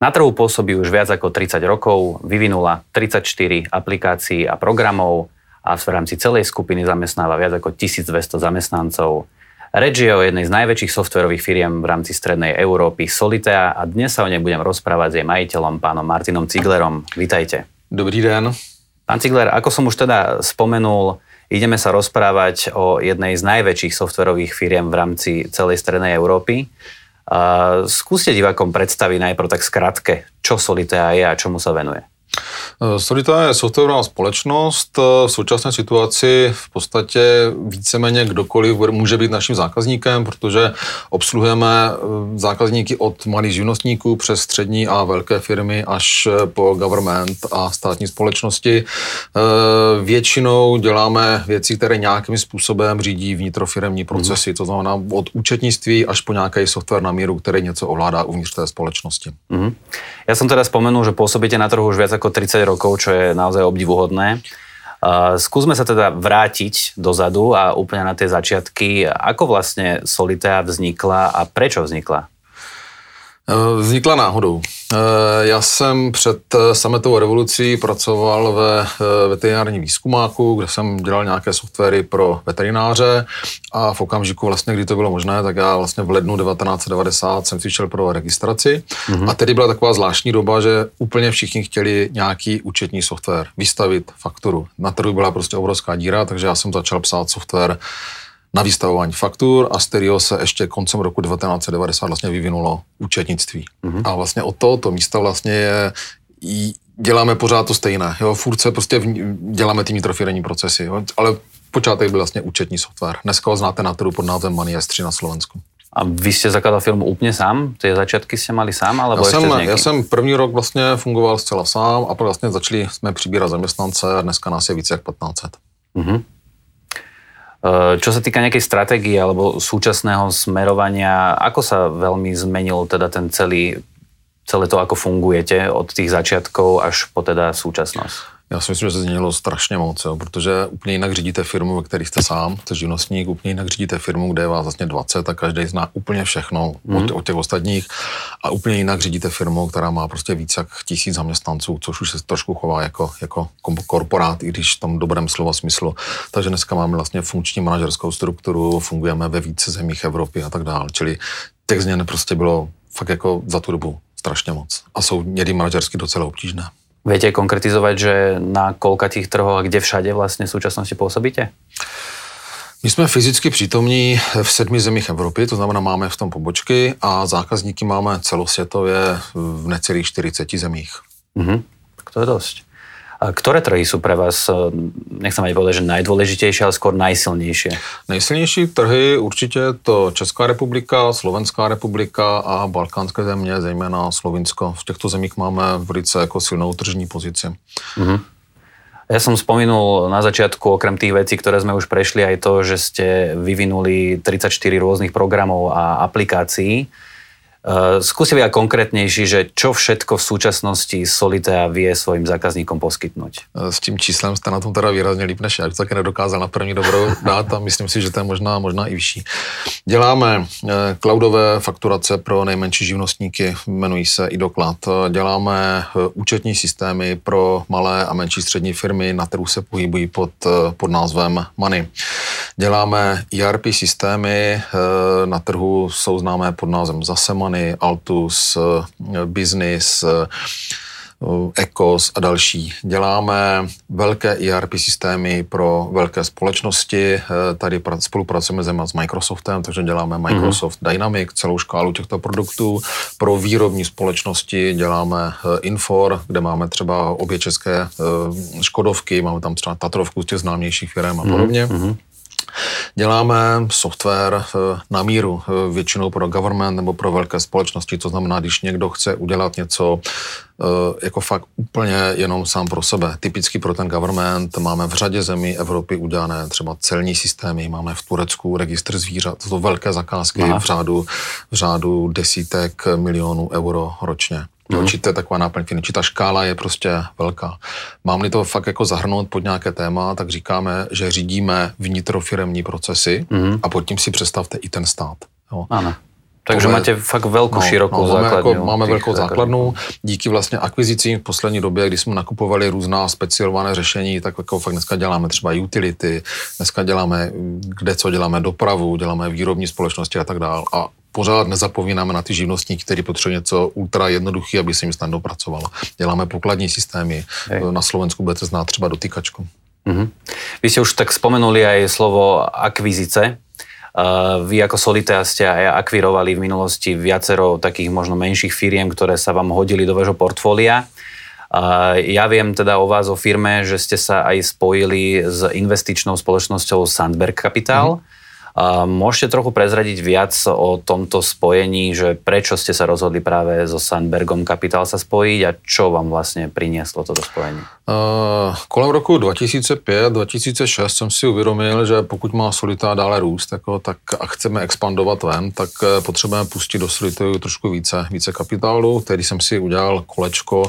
Na trhu pôsobí už viac ako 30 rokov, vyvinula 34 aplikácií a programov a v rámci celej skupiny zamestnáva viac ako 1200 zamestnancov. Reč je o jednej z najväčších softverových firiem v rámci strednej Európy, Solitea, a dnes sa o nej budem rozprávať s jej majiteľom, pánom Martinom Ciglerom. Vítajte. Dobrý den. Pán Cigler, ako som už teda spomenul, ideme sa rozprávať o jednej z najväčších softverových firiem v rámci celej strednej Európy. Skúste divákom predstaviť najprv tak skratke, čo Solitea je a čomu sa venuje. Solitea je softwarová společnost. V současné situaci v podstatě víceméně kdokoliv může být naším zákazníkem, protože obsluhujeme zákazníky od malých živnostníků přes střední a velké firmy až po government a státní společnosti. Většinou děláme věci, které nějakým způsobem řídí vnitrofiremní procesy, to znamená od účetnictví až po nějaký software na míru, který něco ovládá uvnitř té společnosti. Ja som teda spomenul, že pôsobíte na trhu už viac ako 30 rokov, čo je naozaj obdivuhodné. Skúsme sa teda vrátiť dozadu a úplne na tie začiatky. Ako vlastne Solitea vznikla a prečo vznikla? Vznikla náhodou. Já jsem před sametovou revolucí pracoval ve veterinárním výzkumáku, kde jsem dělal nějaké softwary pro veterináře a v okamžiku vlastně, kdy to bylo možné, tak já vlastně v lednu 1990 jsem si šel pro registraci a tedy byla taková zvláštní doba, že úplně všichni chtěli nějaký účetní software, vystavit fakturu. Na trhu byla prostě obrovská díra, takže já jsem začal psát software na vystavování faktur a z kterého se ještě koncem roku 1990 vlastně vyvinulo účetnictví. A vlastně od tohoto místa vlastně děláme pořád to stejné. Jo? Furt se prostě děláme ty vnitrofiremní procesy, jo? Ale počátek byl vlastně účetní software. Dneska ho znáte na trhu pod názvem Money S3 na Slovensku. A vy ste zakladal firmu úplne sám? Tie začiatky ste mali sám, alebo ešte s niekým? Já jsem první rok vlastně fungoval zcela sám a pak vlastně začali jsme přibírat zaměstnance a dneska nás je více jak 1500. Čo sa týka nejakej stratégie alebo súčasného smerovania, ako sa veľmi zmenil teda ten celé to, ako fungujete od tých začiatkov až po teda súčasnosť? Já si myslím, že se změnilo strašně moc, jo, protože úplně jinak řídíte firmu, ve které jste sám, jste živnostník, úplně jinak řídíte firmu, kde je vás vlastně 20 a každý zná úplně všechno od těch ostatních a úplně jinak řídíte firmu, která má prostě více jak 1000 zaměstnanců, což už se trošku chová jako korporát, i když v tom dobrém slova smyslu. Takže dneska máme vlastně funkční manažerskou strukturu, fungujeme ve více zemích Evropy a tak dále, čili těch změn prostě bylo fakt jako za tu dobu strašně moc a jsou někdy manažersky docela obtížné. Viete konkretizovať, že na koľkatých trhoch a kde všade vlastne v súčasnosti pôsobíte? My jsme fyzicky přítomní v 7 zemích Evropy, to znamená máme v tom pobočky a zákazníky máme celosvětově v necelých 40 zemích. Tak to je dosť. A ktoré trhy sú pre vás, nechcem ani povedať, že najdôležitejšie, ale skôr najsilnejšie? Nejsilnější trhy určitě to Česká republika, Slovenská republika a balkánské země, zejména Slovinsko. V těchto zemích máme velice jako silnou tržní pozici. Ja som spomenul na začiatku, okrem tých vecí, ktoré sme už prešli, aj to, že ste vyvinuli 34 rôznych programov a aplikácií. Skúste byť konkrétnejší, že čo všetko v súčasnosti Solitea vie svojim zákazníkom poskytnúť? S tím číslem jste na tom teda výrazně líp než já, to taky nedokázal na první dobrou dát a myslím si, že to je možná i vyšší. Děláme cloudové fakturace pro nejmenší živnostníky, jmenují se iDoklad. Děláme účetní systémy pro malé a menší střední firmy, na trhu se pohybují pod názvem Money. Děláme ERP systémy, na trhu jsou známé pod názvem zase Money, Altus, Business, Ecos a další. Děláme velké ERP systémy pro velké společnosti. Tady spolupracujeme zejména s Microsoftem, takže děláme Microsoft Dynamics, celou škálu těchto produktů. Pro výrobní společnosti děláme Infor, kde máme třeba obě české Škodovky, máme tam třeba Tatrovku z těch známějších firm a podobně. Děláme software na míru, většinou pro government nebo pro velké společnosti, to znamená, když někdo chce udělat něco jako fakt úplně jenom sám pro sebe. Typicky pro ten government máme v řadě zemí Evropy udělané třeba celní systémy, máme v Turecku registr zvířat, to jsou velké zakázky v řádu desítek milionů euro ročně. Určitě je taková náplň firmy. Ta škála je prostě velká. Mám-li to fakt jako zahrnout pod nějaké téma, tak říkáme, že řídíme vnitrofiremní procesy a pod tím si představte i ten stát. Jo. Ano. Takže máte fakt velkou, širokou základnu. Máme velkou základnu. Díky vlastně akvizicím v poslední době, kdy jsme nakupovali různá specializované řešení, tak jako fakt dneska děláme třeba utility, dneska děláme co děláme dopravu, děláme výrobní společnosti a tak dál. A pořád nezapomínáme na ty živnostníky, kteří potřebují něco ultra jednoduchý, aby se jim snadno pracovalo. Děláme pokladní systémy. Na Slovensku budete znát třeba dotykačku. Vy ste už tak spomenuli aj slovo akvizice. Vy ako Solitaire ste aj akvirovali v minulosti viacero takých možno menších firiem, ktoré sa vám hodili do vášho portfólia. Ja viem teda o vás, o firme, že ste sa aj spojili s investičnou spoločnosťou Sandberg Capital. Môžete trochu prezradiť viac o tomto spojení, že prečo ste sa rozhodli práve so Sandbergom Capital sa spojiť a čo vám vlastne prinieslo toto spojenie? Kolem roku 2005-2006 jsem si uvědomil, že pokud má Solitaire dále růst tak a chceme expandovat ven, tak potřebujeme pustit do Solitaire trošku více kapitálu, který jsem si udělal kolečko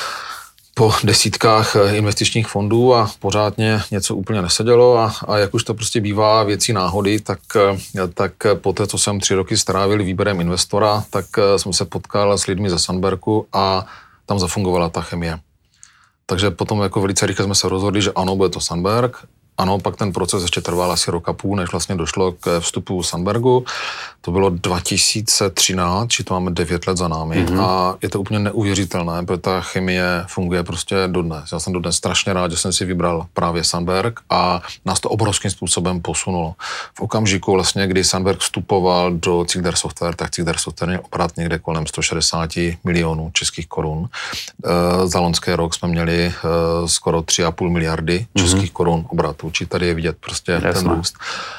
po desítkách investičních fondů a pořádně něco úplně nesedělo a jak už to prostě bývá věcí náhody, tak po té, co jsem 3 roky strávil výběrem investora, tak jsem se potkal s lidmi ze Sandbergu a tam zafungovala ta chemie. Takže potom jako velice rychle jsme se rozhodli, že ano, bude to Sandberg. Ano, pak ten proces ještě trval asi rok a půl, než vlastně došlo k vstupu Sandbergu. To bylo 2013, či to máme 9 let za námi a je to úplně neuvěřitelné, protože ta chemie funguje prostě dodnes. Já jsem dodnes strašně rád, že jsem si vybral právě Sandberg a nás to obrovským způsobem posunulo. V okamžiku vlastně, kdy Sandberg vstupoval do Cigder Software, tak Cigder Software měl obrat někde kolem 160 milionů českých korun. Za loňský rok jsme měli skoro 3,5 miliardy českých korun obratu. Či tady je vidět prostě ten růst.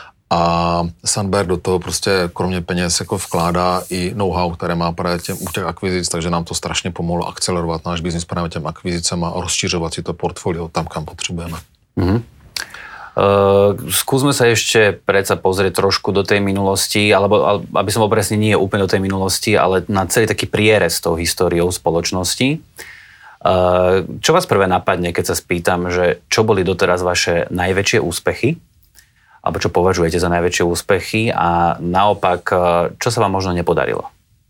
A Sandberg do toho prostě kromě peněz jako vkládá i know-how, které má právě u těch akvizic, takže nám to strašně pomohlo akcelerovat náš biznis právě těm akvizicem a rozšiřovat si to portfolio tam, kam potřebujeme. Skúsme sa ešte predsa pozrieť trošku do tej minulosti, alebo aby som bol presne, nie úplne do tej minulosti, ale na celý taký prierez tou históriou spoločnosti. Čo vás prvé napadne, keď sa spýtam, že čo boli doteraz vaše najväčšie úspechy? Alebo čo považujete za najväčšie úspechy a naopak, čo sa vám možno nepodarilo?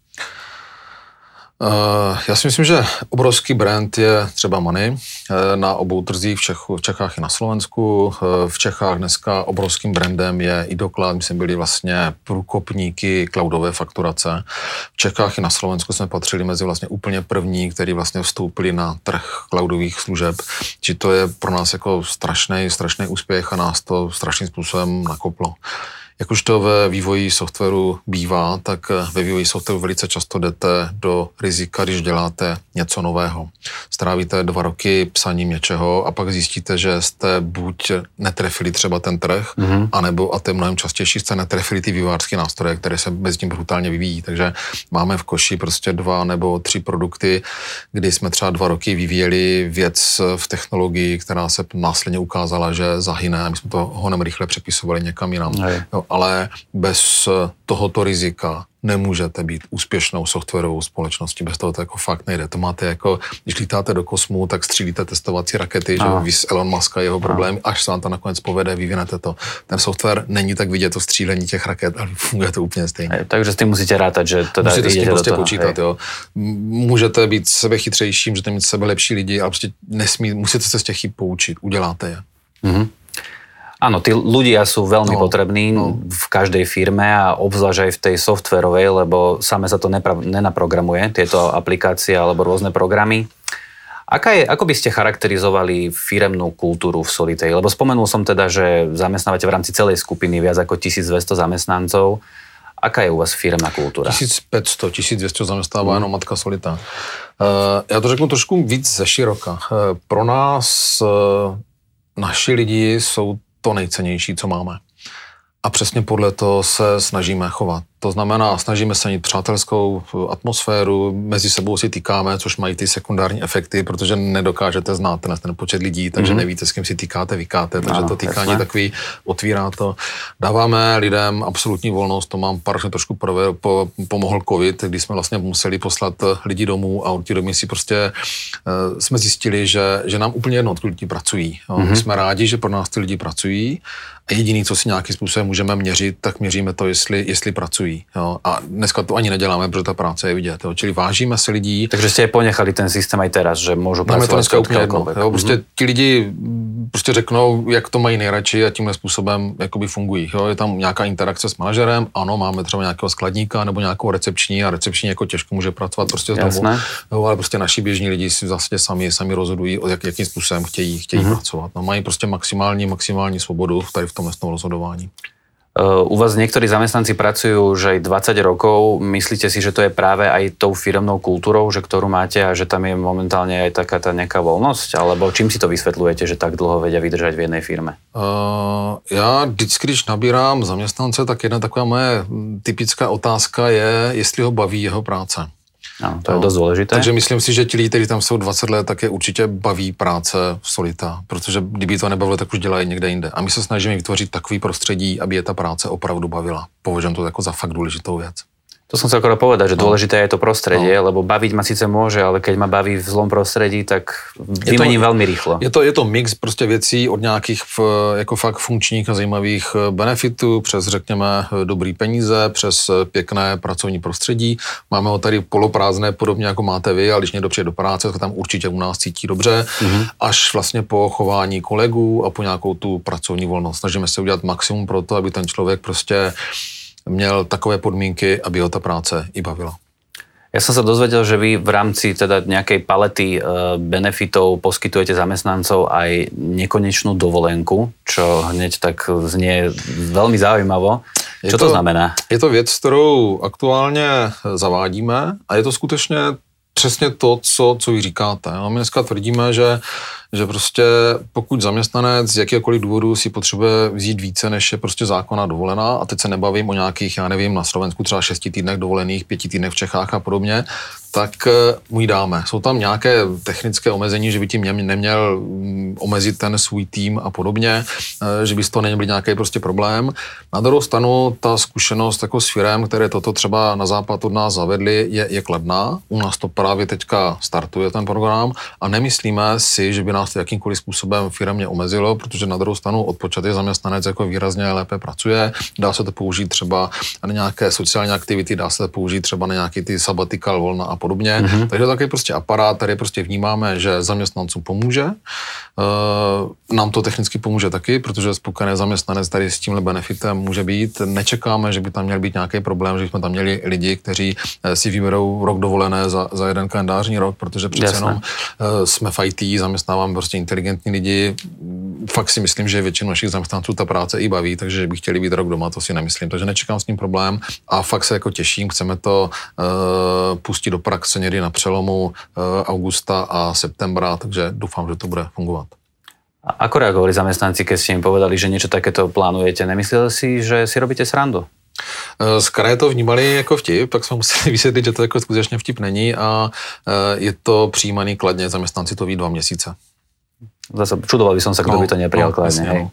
Já si myslím, že obrovský brand je třeba Money na obou trzích v Čechách i na Slovensku. V Čechách dneska obrovským brandem je iDoCloud, my jsme byli vlastně průkopníky cloudové fakturace. V Čechách i na Slovensku jsme patřili mezi vlastně úplně první, který vlastně vstoupili na trh cloudových služeb. Či to je pro nás jako strašný úspěch a nás to strašným způsobem nakoplo. Jak už to ve vývoji softwaru bývá, tak ve vývoji softwaru velice často jdete do rizika, když děláte něco nového. Strávíte 2 roky psaním něčeho a pak zjistíte, že jste buď netrefili třeba ten trh, anebo, a to je mnohem častější, jste netrefili ty vývojářské nástroje, které se bez tím brutálně vyvíjí. Takže máme v koši prostě 2 nebo 3 produkty, kdy jsme třeba 2 roky vyvíjeli věc v technologii, která se následně ukázala, že zahyne a my jsme to honem rychle přepisovali někam jinam. Ale bez tohoto rizika nemůžete být úspěšnou softwarovou společností. Bez toho to jako fakt nejde. To máte jako, když lítáte do kosmu, tak střílíte testovací rakety, že vy z Elon Muska jeho problémy, až se vám to nakonec povede, vyvinete to. Ten software není tak vidět to střílení těch raket, ale funguje to úplně stejně. Takže s tím musíte rátať, že teda musíte s tím prostě do toho, počítat, jo. Můžete být sebechytřejší, můžete mít sebe lepší lidi, ale prostě musíte se z těch chyb poučit. Uděláte je. Áno, tí ľudia sú veľmi potrební v každej firme a obzvlášť aj v tej softwarovej, lebo same sa to nenaprogramuje, tieto aplikácie alebo rôzne programy. Ako by ste charakterizovali firemnú kultúru v Solitaire? Lebo spomenul som teda, že zamestnávate v rámci celej skupiny viac ako 1200 zamestnancov. Aká je u vás firemná kultúra? 1500, 1200 zamestnává jenom matka Solitaire. Já to řeknu trošku víc ze široka. Pro nás naši lidi jsou to nejcennější, co máme. A přesně podle toho se snažíme chovat. To znamená, snažíme se mít přátelskou atmosféru, mezi sebou si týkáme, což mají ty sekundární efekty, protože nedokážete znát ten počet lidí, takže nevíte, s kým si týkáte, vykáte, takže to týkání takový otvírá to. Dáváme lidem absolutní volnost, to mám paradoxně trošku pomohl covid, kdy jsme vlastně museli poslat lidi domů a od té doby si prostě jsme zjistili, že nám úplně jedno, odkud lidi pracují. My jsme rádi, že pro nás ty lidi pracují a jediný, co si nějakým způsobem můžeme měřit, tak měříme to, jestli pracují. poctiví. Jo? A dneska to ani neděláme, protože ta práce je vidět. Jo? Čili vážíme si lidí. Takže ste aj ponechali ten systém aj teraz, že môžu Máme to dneska úplně jedno. Prostě ti lidi prostě řeknou, jak to mají nejradši a tímhle způsobem jakoby fungují. Jo? Je tam nějaká interakce s manažerem, ano, máme třeba nějakého skladníka nebo nějakou recepční a recepční jako těžko může pracovat prostě z domu. Jo, ale prostě naši běžní lidi si vlastně sami rozhodují, jakým způsobem chtějí pracovat. No, mají prostě maximální svobodu tady v tom rozhodování. U vás niektorí zamestnanci pracujú už aj 20 rokov. Myslíte si, že to je práve aj tou firemnou kultúrou, že ktorú máte a že tam je momentálne aj taká tá nejaká voľnosť? Alebo čím si to vysvetľujete, že tak dlho vedia vydržať v jednej firme? Já vždycky, když nabírám zaměstnance, tak jedna taková moje typická otázka je, jestli ho baví jeho práce. No, to je dosť dôležité. Takže myslím si, že ti lidi, kteří tam jsou 20 let, tak je určitě baví práce v Solita, protože kdyby to nebavilo, tak už dělají někde jinde. A my se snažíme vytvořit takový prostředí, aby je ta práce opravdu bavila. Považujem to jako za fakt důležitou věc. To som sa skoro povedať, že dôležité je to prostredie, lebo baviť ma síce môže, ale keď ma baví v zlom prostredí, tak vymením veľmi rýchlo. Je to mix prostě věcí od nějakých jako fakt funkčních a zajímavých benefitů, přes řekněme dobrý peníze, přes pěkné pracovní prostředí. Máme ho tady poloprázdné, podobně jako máte vy, ale když někdo přijde do práce, tak tam určitě u nás cítí dobře, až vlastně po chování kolegů a po nějakou tu pracovní volnost. Snažíme se udělat maximum pro to, aby ten člověk prostě měl takové podmínky, aby ho ta práce i bavila. Ja som sa dozvedel, že vy v rámci teda nejakej palety benefitov poskytujete zamestnancov aj nekonečnú dovolenku, čo hneď tak znie veľmi zaujímavo. Čo to znamená? Je to věc, kterou aktuálně zavádíme a je to skutečně přesně to, co vy říkáte. No, my dneska tvrdíme, že prostě pokud zaměstnanec z jakéhokoliv důvodu si potřebuje vzít více, než je prostě zákonná dovolená, a teď se nebavím o nějakých, já nevím, na Slovensku třeba 6 týdnech dovolených, 5 týdnech v Čechách a podobně, tak mu ji dáme. Jsou tam nějaké technické omezení, že by tím neměl omezit ten svůj tým a podobně, že by z toho neměl být nějaký prostě problém. Na druhou stranu ta zkušenost jako s firem, které toto třeba na západ od nás zavedli, je kladná. U nás to právě teďka startuje ten program a nemyslíme si, že by nás to jakýmkoliv způsobem firmě omezilo, protože na druhou stranu odpočatý zaměstnanec jako výrazně lépe pracuje. Dá se to použít třeba na nějaké sociální aktivity, dá se to použít třeba na nějaký ty sabbatical volna a podobně. Takže takový prostě aparát, tady prostě vnímáme, že zaměstnancům pomůže. Nám to technicky pomůže taky, protože spokojený zaměstnanec tady s tímhle benefitem může být. Nečekáme, že by tam měl být nějaký problém, že jsme tam měli lidi, kteří si vyberou rok dovolené za jeden kalendářní rok, protože přece jenom jsme v IT, zaměstnáváme prostě inteligentní lidi. Fakt si myslím, že většinu našich zaměstnanců ta práce i baví, takže že by chtěli být rok doma, to si nemyslím. Takže nečekám s tím problém a fakt se jako těším, chceme to pustit do praxe někdy na přelomu augusta a septembra, takže doufám, že to bude fungovat. A ako reagovali zamestnanci, keď ste im povedali, že niečo takéto plánujete? Nemysleli si, že si robíte srandu? Z kraje to vnímali jako vtip, tak jsme museli vysvětlit, že to jako skutečně vtip není a je to přijímaný kladně, zaměstnanci to ví 2 měsíce. Zase čudoval by som sa, kto by to neprijal kladne. Hej.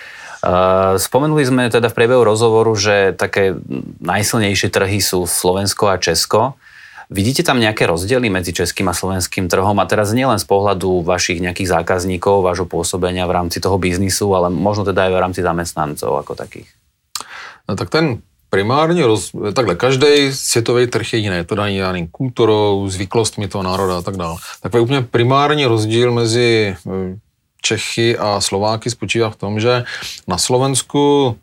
Spomenuli sme teda v priebehu rozhovoru, že také najsilnejšie trhy sú Slovensko a Česko. Vidíte tam nejaké rozdiely medzi českým a slovenským trhom? A teraz nielen z pohľadu vašich nejakých zákazníkov, vášho pôsobenia v rámci toho biznisu, ale možno teda aj v rámci zamestnancov ako takých. No, tak ten primárně, takhle, každý světový trh je jiný, je to daný daným kulturou, zvyklostmi toho národa a tak dále. Takový úplně primární rozdíl mezi Čechy a Slováky spočívá v tom, že na Slovensku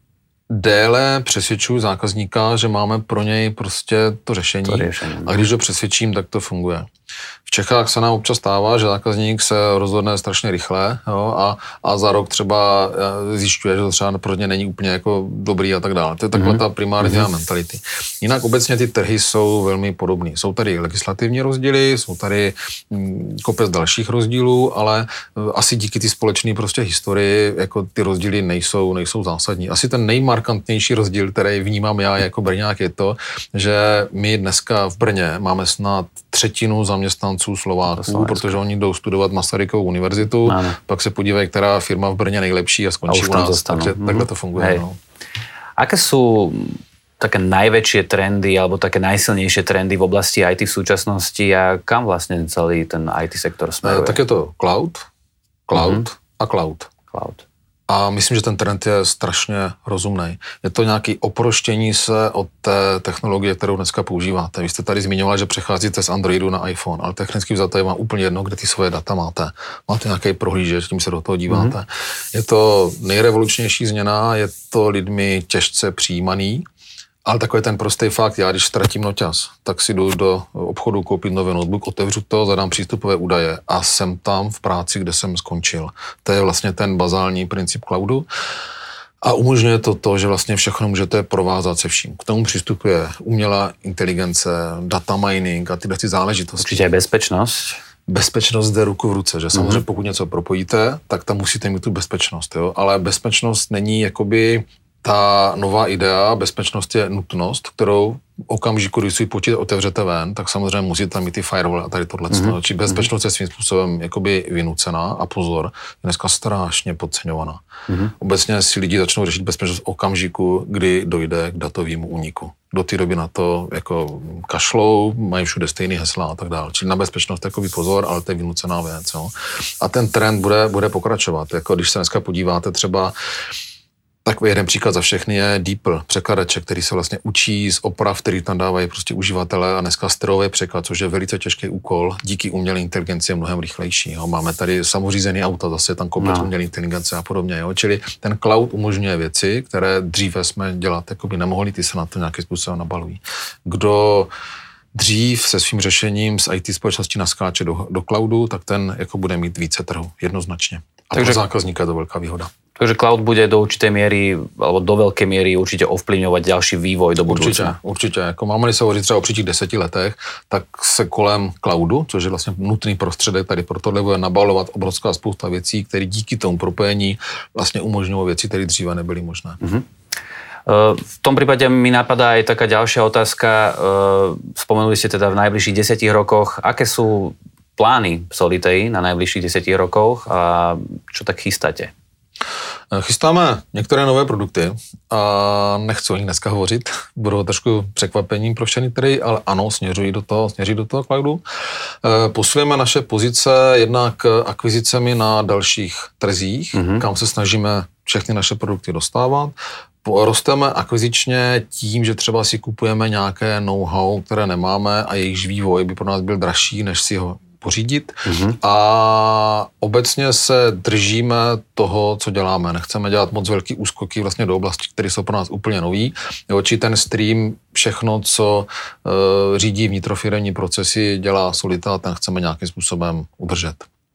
déle přesvědčuju zákazníka, že máme pro něj prostě to řešení. A když ho přesvědčím, tak to funguje. V Čechách se nám občas stává, že zákazník se rozhodne strašně rychle, jo, a za rok třeba zjišťuje, že to třeba pro ně není úplně jako dobrý a tak dále. To je takhle ta primární mentality. Jinak obecně ty trhy jsou velmi podobné. Jsou tady legislativní rozdíly, jsou tady kopec dalších rozdílů, ale asi díky ty společné prostě historii jako ty rozdíly nejsou zásadní. Asi ten nejmarkantnější rozdíl, který vnímám já jako Brňák, je to, že my dneska v Brně máme snad 1/3 zaměstnanců Slováků, protože oni jdou studovat Masarykovu univerzitu, pak se podívají, která firma v Brně nejlepší a skončí u nás. Takže takhle to funguje. No. Aké sú také najväčšie trendy alebo také najsilnejšie trendy v oblasti IT v súčasnosti a kam vlastne celý ten IT sektor smeruje? Tak je to cloud a cloud. A myslím, že ten trend je strašně rozumný. Je to nějaké oproštění se od té technologie, kterou dneska používáte. Vy jste tady zmiňovali, že přecházíte z Androidu na iPhone, ale technicky vzato je vám úplně jedno, kde ty svoje data máte. Máte nějaký prohlížeč, tím se do toho díváte. Je to nejrevolučnější změna, je to lidmi těžce přijímaný, ale takový ten prostý fakt, já když ztratím noťaz, tak si jdu do obchodu koupit nový notebook, otevřu to, zadám přístupové údaje a jsem tam v práci, kde jsem skončil. To je vlastně ten bazální princip cloudu. A umožňuje to, že vlastně všechno můžete provázat se vším. K tomu přistupuje umělá inteligence, data mining a tyhle záležitosti. Určitě je bezpečnost. Bezpečnost jde ruku v ruce, že samozřejmě pokud něco propojíte, tak tam musíte mít tu bezpečnost, jo? Ale bezpečnost není jakoby ta nová idea, bezpečnost je nutnost, kterou okamžiku, když si počítač otevřete ven, tak samozřejmě musíte mít ty firewall a tady tohle. Či bezpečnost je svým způsobem jakoby vynucená a pozor, je dneska strašně podceňovaná. Obecně si lidi začnou řešit bezpečnost v okamžiku, kdy dojde k datovému úniku. Do té doby na to jako kašlou, mají všude stejný hesla a tak dále. Čili na bezpečnost takový pozor, ale to je vynucená věc. Jo. A ten trend bude pokračovat. Jako když se dneska podíváte třeba, takový jeden příklad za všechny je DeepL, překladače, který se vlastně učí z oprav, který tam dávají prostě uživatelé a dneska strojový překlad, což je velice těžký úkol, díky umělé inteligenci je mnohem rychlejší. Jo. Máme tady samořízený auta, zase tam komplet umělé inteligence a podobně. Jo. Čili ten cloud umožňuje věci, které dříve jsme dělat jakoby nemohli, ty se na to nějakým způsobem nabalují. Kdo dřív se svým řešením z IT společnosti naskáče do cloudu, tak ten jako bude mít více trhu, jednoznačně. A takže pro zákazníka je to veľká výhoda. Takže cloud bude do určitej miery, alebo do veľkej miery určite ovplyvňovať ďalší vývoj do budúcna. Určitě. Jako máme-li se hovořit třeba o příštích 10 letech, tak se kolem cloudu, což je vlastně nutný prostředek tady pro tohle, bude nabalovat obrovská spousta věcí, které díky tomu propojení vlastně umožňují věci, které dříve nebyly možné. V tom prípade mi napadá aj taká ďalšia otázka. Spomenuli ste teda v najbližších 10 rokoch, aké sú plány Solitei na najbližších 10 rokoch a čo tak chystáte? Chystáme některé nové produkty a nechci o nich dneska hovořit, budou trošku překvapením pro všechny trhy, ale ano, směřují do toho cloudu. Posilujeme naše pozice jednak akvizicemi na dalších trzích, kam se snažíme všechny naše produkty dostávat. Rosteme akvizičně tím, že třeba si kupujeme nějaké know-how, které nemáme a jejichž vývoj by pro nás byl dražší, než si ho pořídit. A obecně se držíme toho, co děláme. Nechceme dělat moc velký úskoky vlastně do oblasti, které jsou pro nás úplně nový. Či ten stream, všechno, co řídí vnitrofiremní procesy, dělá Solita, ten chceme nějakým způsobem udržet.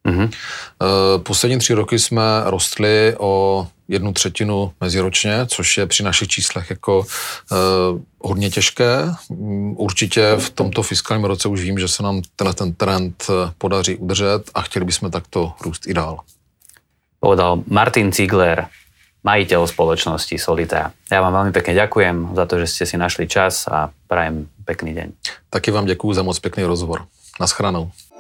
Poslední 3 roky jsme rostli o 1/3 meziročně, což je při našich číslech jako hodně těžké. Určitě v tomto fiskálním roce už vím, že se nám ten trend podaří udržet a chtěli bychom takto růst i dál. Povedal Martin Ziegler, majiteľ spoločnosti Solita. Ja vám veľmi pekne ďakujem za to, že ste si našli čas a prajem pekný deň. Taky vám děkuju za moc pekný rozhovor. Naschranou.